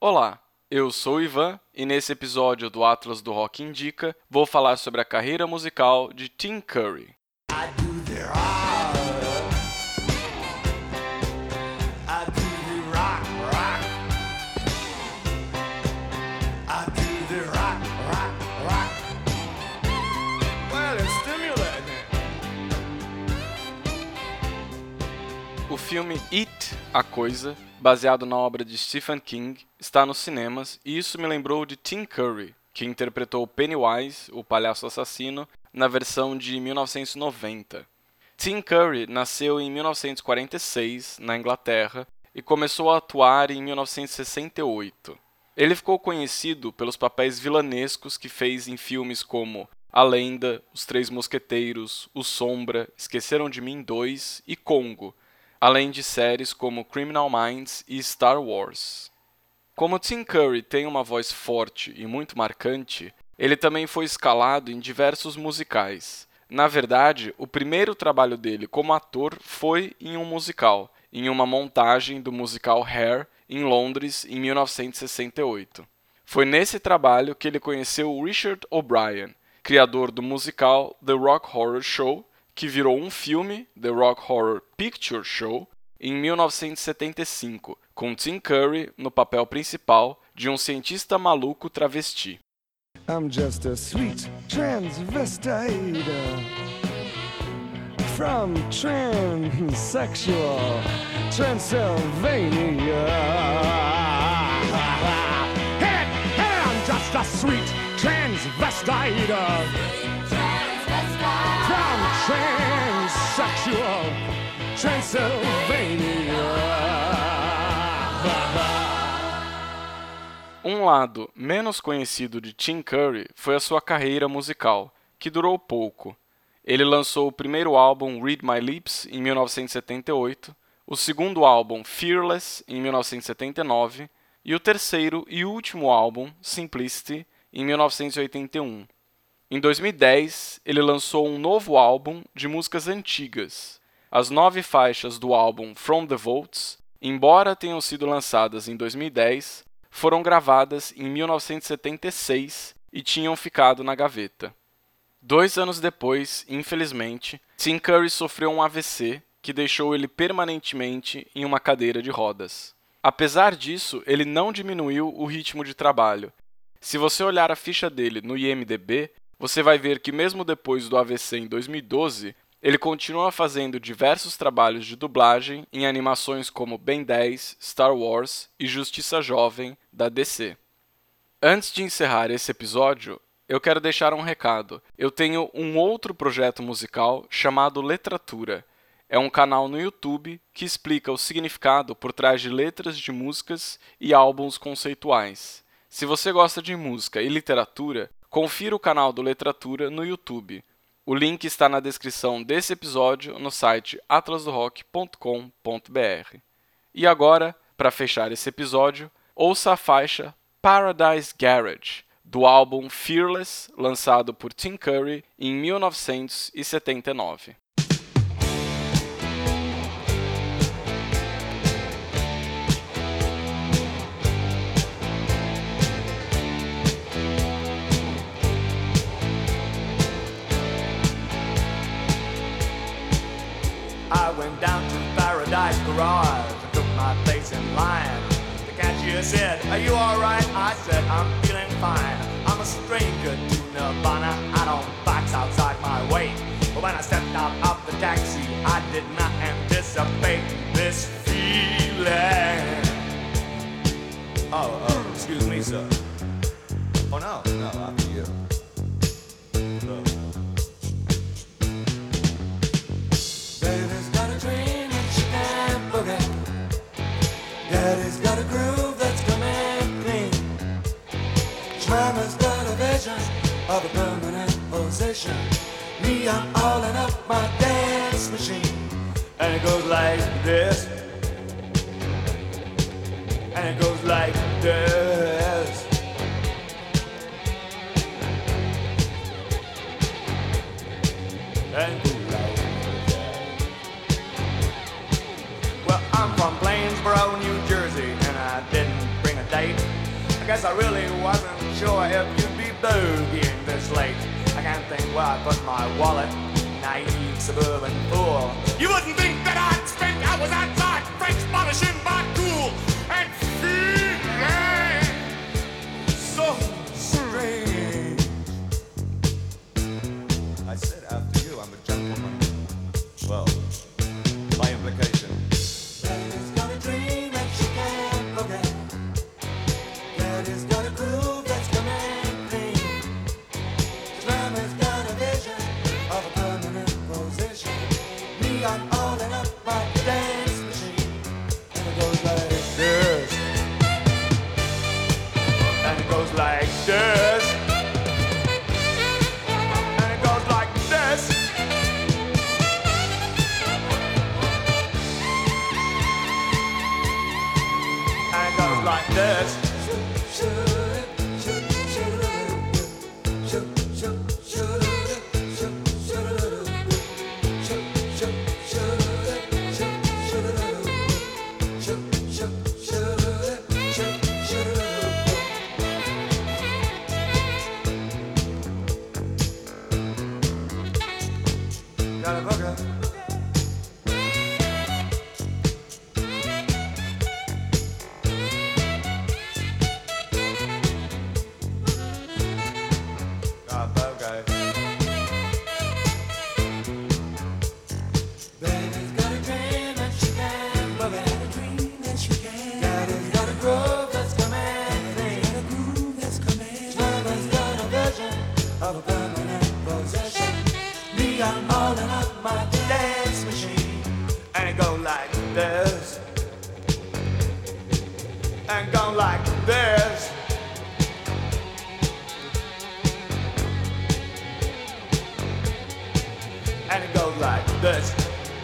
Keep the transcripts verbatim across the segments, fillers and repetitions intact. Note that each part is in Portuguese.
Olá, eu sou o Ivan e nesse episódio do Atlas do Rock Indica vou falar sobre a carreira musical de Tim Curry. O filme It, A Coisa, baseado na obra de Stephen King, está nos cinemas e isso me lembrou de Tim Curry, que interpretou Pennywise, o palhaço assassino, na versão de mil novecentos e noventa. Tim Curry nasceu em mil novecentos e quarenta e seis, na Inglaterra, e começou a atuar em mil novecentos e sessenta e oito. Ele ficou conhecido pelos papéis vilanescos que fez em filmes como A Lenda, Os Três Mosqueteiros, O Sombra, Esqueceram de Mim dois e Congo, além de séries como Criminal Minds e Star Wars. Como Tim Curry tem uma voz forte e muito marcante, ele também foi escalado em diversos musicais. Na verdade, o primeiro trabalho dele como ator foi em um musical, em uma montagem do musical Hair, em Londres, em mil novecentos e sessenta e oito. Foi nesse trabalho que ele conheceu Richard O'Brien, criador do musical The Rock Horror Show, que virou um filme, The Rock Horror Picture Show, em mil novecentos e setenta e cinco, com Tim Curry no papel principal de um cientista maluco travesti. I'm just a sweet transvestite from transsexual Transylvania. Hey, hey, I'm just a sweet transvestite from transsexual Transylvania. Um lado menos conhecido de Tim Curry foi a sua carreira musical, que durou pouco. Ele lançou o primeiro álbum Read My Lips em mil novecentos e setenta e oito, o segundo álbum Fearless em mil novecentos e setenta e nove e o terceiro e último álbum Simplicity em mil novecentos e oitenta e um. Em dois mil e dez, ele lançou um novo álbum de músicas antigas. As nove faixas do álbum From the Vaults, embora tenham sido lançadas em dois mil e dez, foram gravadas em mil novecentos e setenta e seis e tinham ficado na gaveta. Dois anos depois, infelizmente, Tim Curry sofreu um A V C que deixou ele permanentemente em uma cadeira de rodas. Apesar disso, ele não diminuiu o ritmo de trabalho. Se você olhar a ficha dele no I M D B, você vai ver que mesmo depois do A V C em dois mil e doze, ele continua fazendo diversos trabalhos de dublagem em animações como Ben dez, Star Wars e Justiça Jovem, da D C. Antes de encerrar esse episódio, eu quero deixar um recado. Eu tenho um outro projeto musical chamado Letratura. É um canal no YouTube que explica o significado por trás de letras de músicas e álbuns conceituais. Se você gosta de música e literatura, confira o canal do Letratura no YouTube. O link está na descrição desse episódio no site atlas do rock ponto com ponto b r. E agora, para fechar esse episódio, ouça a faixa Paradise Garage, do álbum Fearless, lançado por Tim Curry em mil novecentos e setenta e nove. I went down to Paradise Garage and took my place in line. The cashier said, "Are you alright?" I said, "I'm feeling fine. I'm a stranger to Nirvana. I don't box outside my way." But when I stepped out of the taxi, I did not anticipate this feeling. Oh, oh, excuse me, sir. Oh, no, no, after you. Uh, Baby's got a dream and she can't forget. Daddy's got a groove that's coming clean. Mama's got a vision of a permanent position. Me, I'm all in up my dance machine. And it goes like this. And it goes like this. And it goes like that. Well, I'm from Plainsboro, New Jersey, and I didn't bring a date. I guess I really wasn't sure if you'd be boogieing this late. I can't think where I put my wallet, naive suburban fool. You wouldn't think that I'd spent hours outside, French polishing my tool, and feeling so strange. I said after you, I'm a gentleman. Well, by implication. Daddy's got a dream that she can't forget. Daddy's got a groove that's coming clean. Mama's got a vision of a permanent position. Me, I'm all in up my dance machine. And it goes like this. And it goes like this. And it goes like this. And it goes like this. Got a booger. Got a boogie. Baby's got a dream and she can love it. A dream and she can. Daddy's got a groove that's coming. Got a groove that's coming. Mama's got a vision of a permanent possession. Me, I'm all in up my dance machine. And it go like this. And go like this. And it goes like this.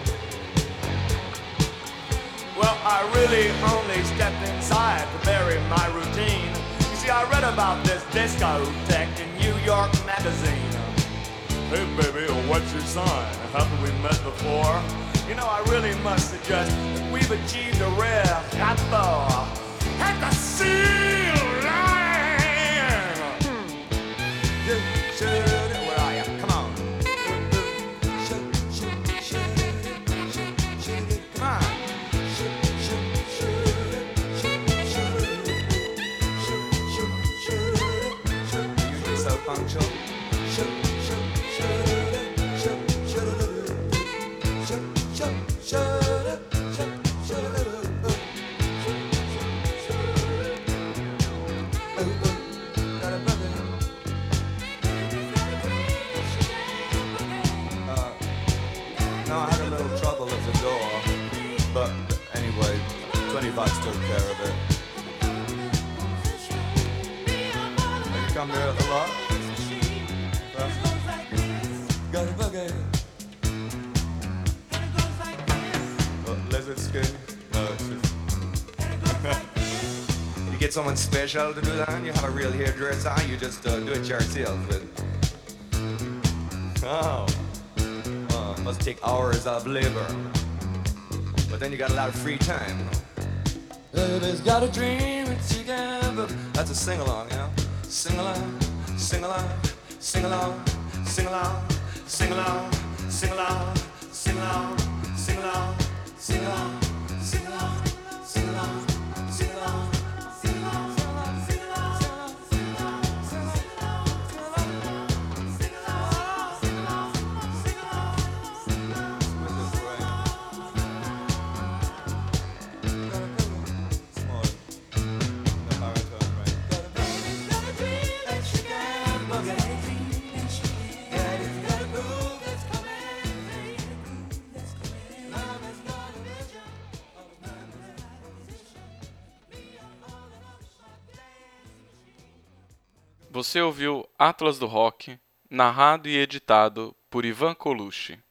Well, I really only stepped inside to bury my routine. You see, I read about this discotheque in New York Magazine. Hey baby, what's your sign? Haven't we met before? You know, I really must suggest that we've achieved a rare rapport at the sea line. Where are you? Come on. Come on. You're so punctual. No, I had a little trouble at the door, but anyway, twenty bucks took care of it. Have you come here a lot? Huh? Got a boogie. Uh, lizard skin? No, it's just... You get someone special to do that, you have a real hairdresser, you just uh, do it yourself. But... Oh. Uh, must take hours of labor. But then you got a lot of free time. Baby's got a dream and she can love it. That's a sing-along, you know? Sing-along, sing-along, sing-along, sing-along, sing-along, sing-along, sing-along, sing-along, sing-along, sing-along, sing-along, sing-along, sing-along, Você ouviu Atlas do Rock, narrado e editado por Ivan Colucci.